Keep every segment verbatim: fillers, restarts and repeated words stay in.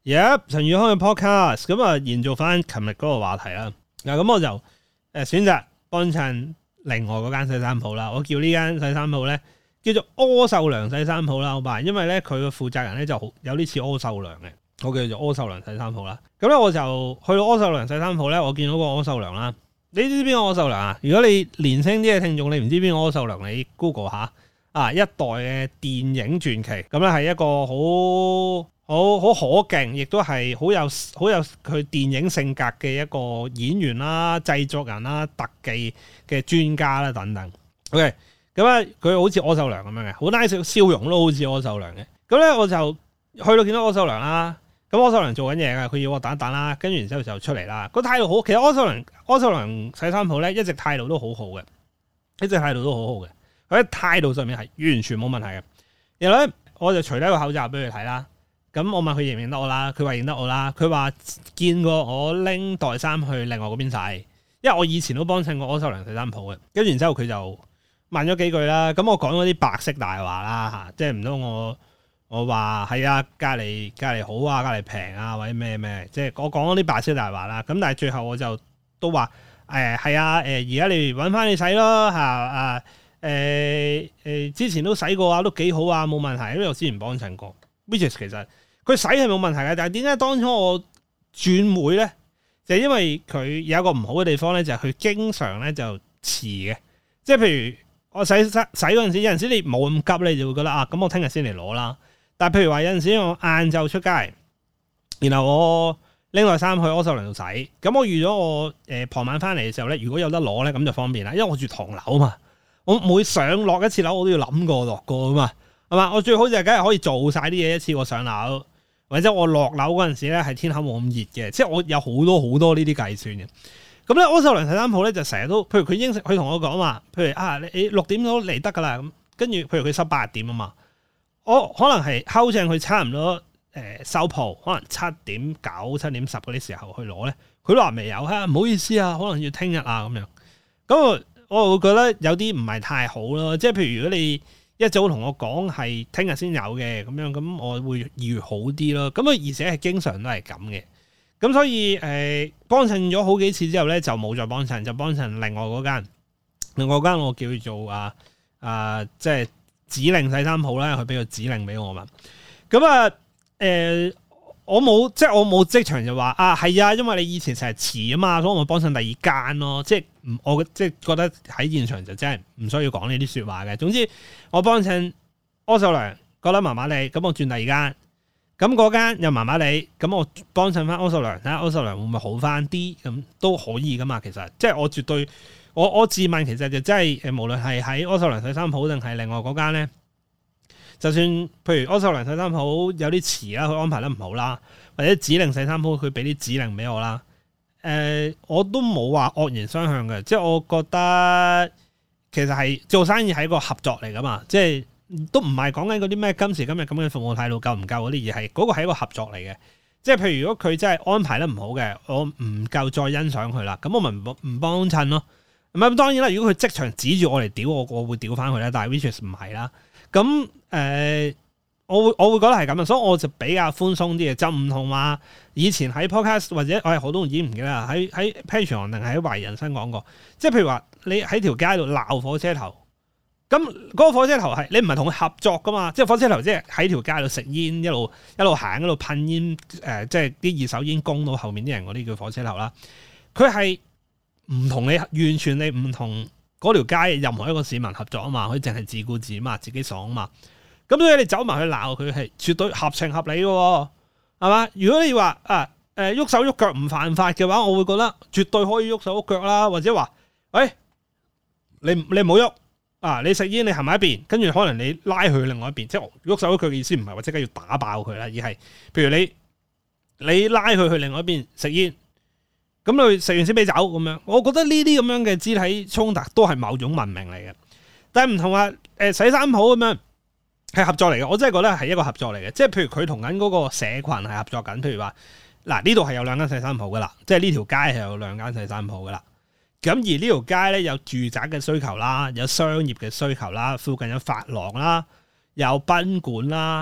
Yep， 陳宇康嘅 podcast 咁啊，延續翻琴日嗰個話題啦。嗱，咁我就誒選擇幫襯另外嗰間洗衫鋪啦。我叫呢間洗衫鋪咧叫做柯受良洗衫鋪啦，好吧？因為咧佢個負責人咧就好有啲似柯受良嘅，我叫做柯受良洗衫鋪啦。咁咧我就去到柯受良洗衫鋪咧，我見到個柯受良啦。你知邊個柯受良啊？如果你年輕啲嘅聽眾，你唔知邊個柯受良，你 Google 下啊，一代嘅電影傳奇，咁咧係一個好。好好可敬，亦都係好有好有佢電影性格嘅一個演員啦、製作人啦、特技嘅專家啦等等。OK， 咁啊，佢好似柯受良咁樣嘅，好 nice 笑容都好似柯受良嘅。咁咧我就去到見到柯受良啦，咁柯受良做緊嘢㗎，佢要我等一等啦，跟住然之後就出嚟啦。個態度好，其實柯受良柯受良洗衫鋪咧一直態度都好好嘅，一直態度都好好嘅。佢喺態度上面係完全冇問題嘅。然後咧我就除低個口罩俾佢睇啦。咁我問佢認唔認得我啦，佢話認得我啦。佢話見過我拎袋衫去另外嗰邊洗，因為我以前都幫襯過柯受良洗衫鋪嘅。跟住然之後佢就問咗幾句啦。咁我講嗰啲白色大話啦嚇，即係唔通我我話係啊，隔離隔離好啊，隔離平啊，或者咩咩，即係我講嗰啲白色大話啦。咁但係最後我就都話誒係啊，誒而家你揾翻你洗咯嚇啊誒誒之前都洗過啊，都幾好啊，冇問題，因為我之前幫襯過。which is 其實佢洗係冇問題嘅，但係點解當初我轉會咧？就係因為佢有一個唔好嘅地方咧，就係佢經常咧就遲嘅。即係譬如我洗洗洗嗰陣時，有陣時你冇咁急咧，你就會覺得啊，咁我聽日先嚟攞啦。但係譬如話有陣時我晏晝出街，然後我拎袋衫去柯受良度洗，咁我預咗我誒傍晚翻嚟嘅時候咧，如果有得攞咧，咁就方便啦。因為我住唐樓嘛，我每上落一次樓我都要諗過落過噶嘛。係嘛？我最好就係梗係可以做晒啲嘢一次過上樓，或者我落樓嗰陣時咧係天口冇咁熱嘅，即係我有好多好多呢啲計算嘅。咁咧柯受良洗衫鋪咧就成日都，譬如佢應承佢同我講話，譬如啊你六點都嚟得㗎啦，咁跟住譬如佢收八點啊嘛，我可能係睺正佢差唔多誒、呃、收鋪，可能七點九、七點十嗰啲時候去攞咧，佢都話未有嚇，唔好意思啊，可能要聽日啊咁樣。咁我我會覺得有啲唔係太好咯，即係譬如如果你一早同我講係聽日先有嘅咁樣，咁我會預好啲咯。咁啊，而且係經常都係咁嘅。咁所以誒，幫襯咗好幾次之後咧，就冇再幫襯，就幫襯另外嗰間。另外嗰間我叫做啊啊，即係指令洗衫鋪啦，佢俾個指令俾我嘛。咁啊誒，我冇即係我冇即場就話啊係啊，因為你以前成日遲啊嘛，所以我咪幫襯第二間咯。即係唔我即係覺得喺現場就真係唔需要講呢啲説話嘅。總之我幫襯柯受良覺得麻麻地，咁我轉第二間，咁嗰間又麻麻地，咁我幫襯翻柯受良睇下柯受良會唔會好翻啲，咁都可以噶嘛。其實即係我絕對我我自問其實就真係誒，無論係喺柯受良洗衫鋪定係另外嗰間咧。就算譬如柯受良洗衫鋪有啲遲啦，佢安排得唔好啦，或者指令洗衫鋪佢俾啲指令俾我啦，誒、呃、我都冇話惡言相向嘅，即係我覺得其實係做生意係一個合作嚟噶嘛，即係都唔係講緊嗰啲咩今時今日咁嘅服務態度夠唔夠嗰啲，而係嗰個係一個合作嚟嘅。即係譬如如果佢真係安排得唔好嘅，我唔夠再欣賞佢啦，咁我咪唔唔幫襯咯。咁當然啦，如果佢即場指住我嚟屌我，我會屌翻佢啦。但係 which is 唔係啦。咁誒、呃，我會我會覺得係咁啊，所以我就比較寬鬆啲嘅，就唔同話以前喺 podcast 或者我係好多人已經唔記得啦，喺喺 Patreon 定係喺懷疑人生講過，即係譬如話你喺條街度鬧火車頭，咁嗰個火車頭係你唔係同佢合作噶嘛，即係火車頭即係喺條街度食煙，一路一路行一路噴煙，誒、呃，即係啲二手煙供到後面啲人嗰啲叫火車頭啦，佢係唔同你完全你唔同。嗰條街任何一個市民合作啊嘛，佢淨係自顧自啊嘛，自己爽啊嘛。咁所以你走埋去鬧佢係絕對合情合理嘅，係嘛？如果你話啊誒喐手喐腳唔犯法嘅話，我會覺得絕對可以喐手喐腳啦。或者話，喂，你你唔好喐啊！你食煙你行埋一邊，跟住可能你拉佢去另外一邊，即係喐手喐腳嘅意思唔係話即刻要打爆佢啦，而係譬如你你拉佢去另外一邊食煙。咁你食完先俾走咁樣，我覺得呢啲咁樣嘅肢體衝突都係某種文明嚟嘅，但係唔同話誒洗衫鋪咁樣係合作嚟嘅，我真係覺得係一個合作嚟嘅，即係譬如佢同緊嗰個社群係合作緊，譬如話嗱呢度係有兩間洗衫鋪噶啦，即係呢條街係有兩間洗衫鋪噶啦，咁而呢條街咧有住宅嘅需求啦，有商業嘅需求啦，附近有髮廊啦，有賓館啦。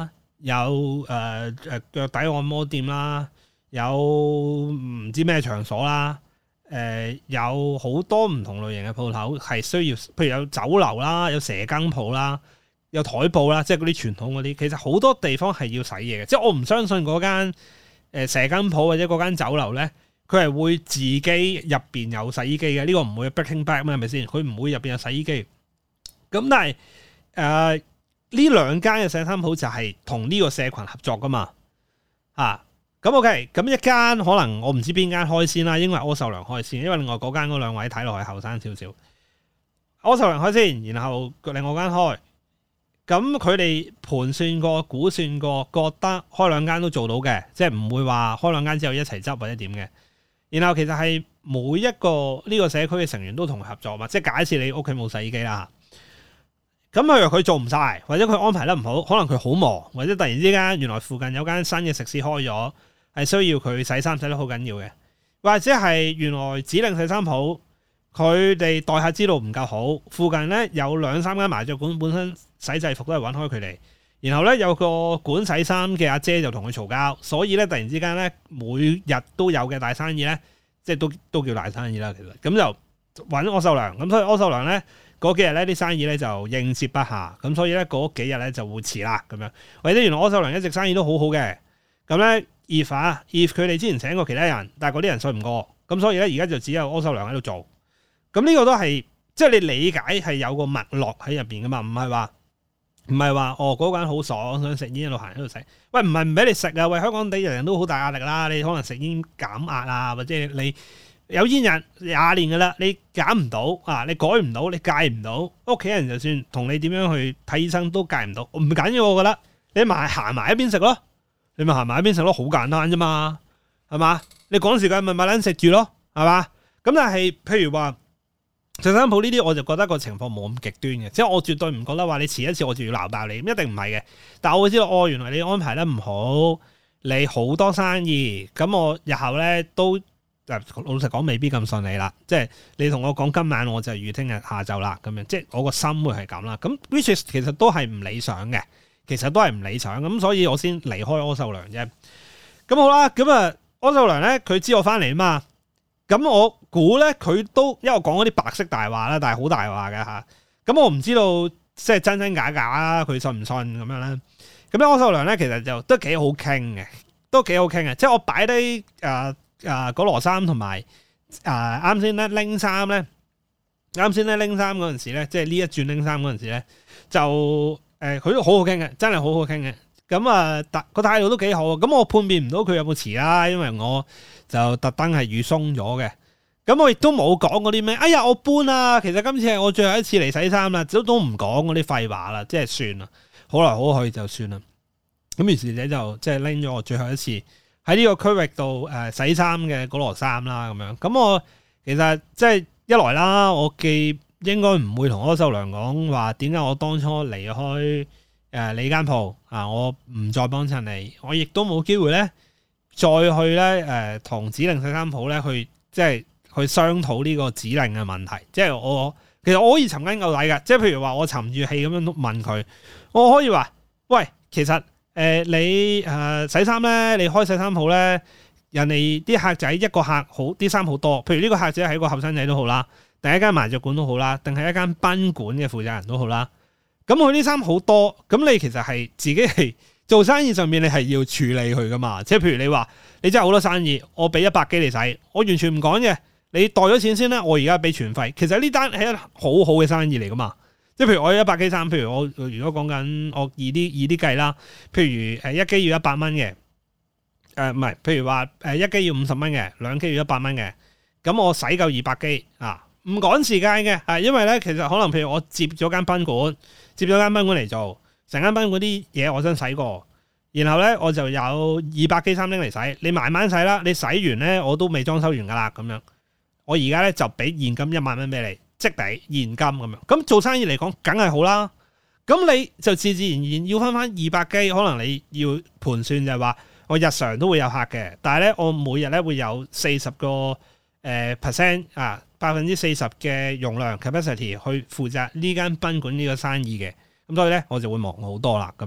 有誒誒腳底按摩店啦，有唔知咩場所啦，誒、呃、有好多唔同類型嘅鋪頭係需要，譬如有酒樓啦，有蛇羹鋪啦，有台布啦，即係嗰啲傳統嗰啲，其實好多地方係要洗嘢嘅，即係我唔相信嗰間誒蛇羹鋪或者嗰間酒樓咧，佢係會自己入邊有洗衣機嘅，呢、這個唔會 breaking back 咩係咪先？佢唔會入邊有洗衣機。咁但係誒呢兩間嘅洗衫鋪就係同呢個社群合作噶嘛，啊咁 OK，咁一間可能我唔知邊間開先啦，應該係柯受良開先，因為另外嗰間嗰兩位睇落去後生少少，柯受良開先，然後另外間開，咁佢哋盤算過、估算過，覺得開兩間都做到嘅，即係唔會話開兩間之後一齊執或者點嘅。然後其實係每一個呢個社區嘅成員都同佢合作嘛，即係假設你屋企冇洗衣機啦。咁譬如佢做唔晒，或者佢安排得唔好，可能佢好忙，或者突然之間原來附近有間新嘅食肆開咗，係需要佢洗衫洗得好緊要嘅，或者係原來指令洗衫鋪佢哋待客之道唔夠好，附近咧有兩三間麻雀館本身洗制服都係揾開佢哋，然後咧有個管洗衫嘅阿姐就同佢嘈交，所以咧突然之間咧每日都有嘅大生意咧，即係都都叫大生意啦，其實咁就揾柯受良，咁所以柯受良咧。嗰幾日咧啲生意咧就應接不暇，咁所以咧嗰幾日咧就會遲啦咁樣。或者原來柯受良一直生意都好好嘅，咁咧 if 啊 if 佢哋之前請過其他人，但係嗰啲人信唔過，咁所以咧而家就只有柯受良喺度做。咁呢個都係即係你理解係有個脈絡喺入邊噶嘛，唔係話唔係話哦嗰間好爽想食煙一路行喺度食。喂，唔係唔俾你食啊！喂，香港地人人都好大壓力啦，你可能食煙減壓啊，或者你。有煙癮廿年噶啦，你減唔到啊，你改唔到，你戒唔到，屋企人就算同你點樣去睇醫生都戒唔到，唔緊要我覺得，你咪行埋一邊食咯，你咪行埋一邊食咯，好簡單啫嘛，係嘛？你趕時間咪咪撚食住咯，係嘛？咁但係譬如話洗衫鋪呢啲，我就覺得個情況冇咁極端嘅，即係我絕對唔覺得話你遲一次我就要鬧爆你，一定唔係嘅。但係我會知道，哦，原來你安排得唔好，你好多生意，咁我日後咧都。老實講未必咁順利啦，即係你同我講今晚我就預聽日下晝啦，咁樣即係我個心會係咁啦。咁 which is 其實都係唔理想嘅，其實都係唔理想咁，所以我先離開柯受良啫。咁好啦，咁啊柯受良咧佢知我翻嚟啊嘛，咁我估咧佢都因為我講嗰啲白色大話啦，但係好大話嘅吓。咁我唔知道即係真真假假啦，佢信唔信咁樣咧？咁咧柯受良咧其實就都幾好傾嘅，都幾好傾嘅，即係我擺低誒。呃啊！嗰羅衫同埋啊，啱先咧拎衫咧，啱先咧拎衫嗰陣時咧，即係呢一轉拎衫嗰陣時咧，就誒佢都好好傾嘅，真係好好傾嘅。咁啊，特個態度都幾好。咁我判別唔到佢有冇遲啦，因為我就特登係預鬆咗嘅。咁我亦都冇講嗰啲咩，哎呀我搬啊，其實今次係我最後一次嚟洗衫啦，都都唔講嗰啲廢話啦，即係算啦，好來好去就算啦。咁於是者就即係拎咗我最後一次。喺呢個區域度誒洗衫嘅嗰羅衫啦，咁樣咁我其實即係一來啦，我既應該唔會同柯受良講話點解我當初離開誒你間鋪啊，我唔再幫襯你，我亦都冇機會咧再去咧誒同指令洗衫鋪咧去即係去商討呢個指令嘅問題。即係我其實我可以尋根究底嘅，即係譬如話我沉住氣咁樣問佢，我可以話喂，其實。誒、呃、你誒、呃、洗衫咧，你開洗衫鋪咧，人哋啲客仔一個客好啲衫好多，譬如呢個客仔係一個後生仔都好啦，定係一間麻雀館都好啦，定係一間賓館嘅負責人都好啦。咁佢啲衫好多，咁你其實係自己係做生意上面你係要處理佢噶嘛？即係譬如你話你真係好多生意，我俾一百機你洗，我完全唔講嘅，你袋咗錢先啦，我而家俾全費。其實呢單係一好好嘅生意嚟噶嘛。即係譬如我有一百機衫，譬如我如果講緊我易啲易啲計啦，譬如誒一機要一百蚊嘅，誒唔係，譬如話誒一機要五十蚊嘅，兩機要一百蚊嘅，咁我洗夠二百機啊，唔趕時間嘅，啊，因為咧其實可能譬如我接咗間賓館，接咗間賓館嚟做，成間賓館啲嘢我想洗過，然後咧我就有二百機衫拎嚟洗，你慢慢洗啦，你洗完咧我都未裝修完噶啦，咁樣，我而家咧就俾現金一萬蚊俾你。即俾現金咁樣，咁做生意嚟講，梗係好啦。咁你就自自然然要翻翻二百機，可能你要盤算就係話，我日常都會有客嘅，但係咧我每日咧會有四十個誒 percent 啊，百分之四十嘅容量 capacity 去負責呢間賓館呢個生意嘅。咁所以咧我就會忙好多啦，咁樣。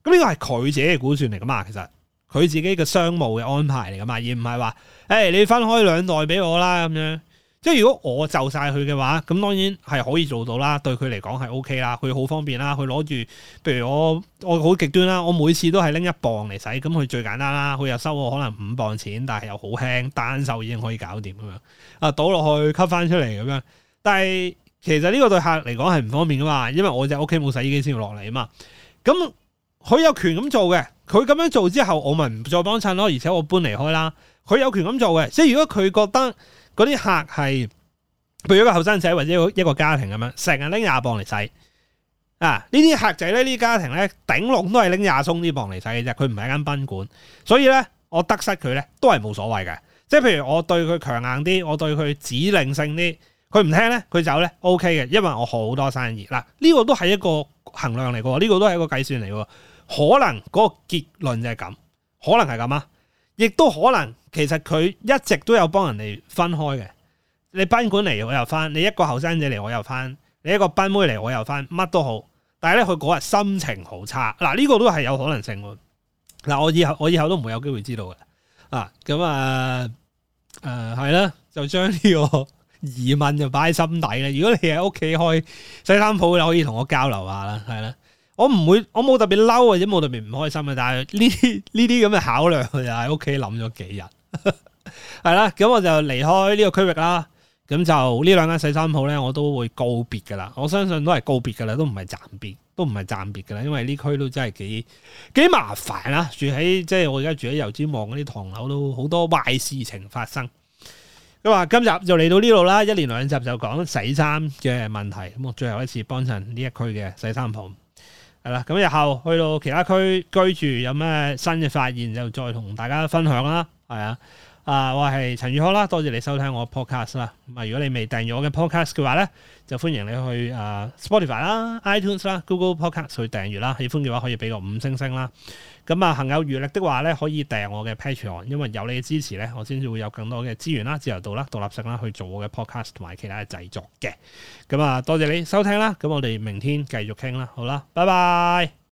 咁呢個係佢自己嘅估算嚟噶嘛，其實佢自己嘅商務嘅安排嚟噶嘛，而唔係話誒你分開兩袋俾我啦咁樣。即係如果我就晒佢嘅話，咁當然係可以做到啦，對佢嚟講係 O K 啦，佢好方便啦，佢攞住，譬如我我好極端啦，我每次都係拎一磅嚟洗，咁佢最簡單啦，佢又收我可能五磅錢，但係又好輕，單手已經可以搞掂咁樣，啊倒落去吸翻出嚟咁樣。但係其實呢個對客嚟講係唔方便噶嘛，因為我隻屋企冇洗衣機先要落嚟啊嘛。咁佢有權咁做嘅，佢咁樣做之後，我咪唔再幫襯咯，而且我搬離開啦。佢有權咁做嘅，即係如果佢覺得嗰啲客係，譬如一個後生仔或者一個家庭咁樣，成日拎廿磅嚟洗啊！呢啲客仔咧，呢啲家庭咧，頂籠都係拎廿鬆啲磅嚟洗嘅啫。佢唔係一間賓館，所以咧，我得失佢咧都係冇所謂嘅。即係譬如我對佢強硬啲，我對佢指令性啲，佢唔聽咧，佢走咧 O K 嘅，因為我好多生意嗱。呢、這個都係一個衡量嚟嘅，呢、這個都係一個計算嚟嘅。可能嗰個結論就係咁，可能係咁啊，亦都可能其實佢一直都有幫人哋分開嘅。你賓館嚟我又翻，你一個後生仔嚟我又翻，你一個賓妹嚟我又翻，乜都好。但係咧佢嗰日心情好差，嗱、這、呢個都係有可能性喎。嗱我以後我以後都唔會有機會知道嘅。啊咁啊誒係啦，就將呢個疑問就擺喺心底啦。如果你喺屋企開洗衫鋪，你可以同我交流下啦，係啦。我唔會，我冇特別嬲或者冇特別唔開心嘅，但係呢啲呢啲咁嘅考量就喺屋企諗咗幾日，係啦。咁我就離開呢個區域啦。咁就呢兩間洗衫鋪咧，我都會告別噶啦。我相信都係告別噶啦，都唔係暫別，都唔係暫別噶啦。因為呢區都真係幾幾麻煩啦。住喺即係我而家住喺油尖旺嗰啲唐樓，都好多壞事情發生。咁啊，今集就嚟到呢度啦。一連兩集就講洗衫嘅問題。咁我最後一次幫襯呢一區嘅洗衫鋪。係啦，咁日後去到其他區居住有咩新嘅發現，就再同大家分享啦。係啊，啊我係陳宇康啦，多謝你收聽我 podcast 啦。咁啊，如果你未訂閱我嘅 podcast 嘅話咧，就歡迎你去啊 Spotify 啦、iTunes 啦、Google Podcast 去訂閱啦。喜歡嘅話可以俾個五星星啦。咁啊，行有餘力的話咧，可以訂我嘅 Patreon，因為有你嘅支持咧，我先至會有更多嘅資源啦、自由度啦、獨立性啦，去做我嘅 podcast 同埋其他嘅製作嘅。咁啊，多謝你收聽啦。咁我哋明天繼續傾啦。好啦，拜拜。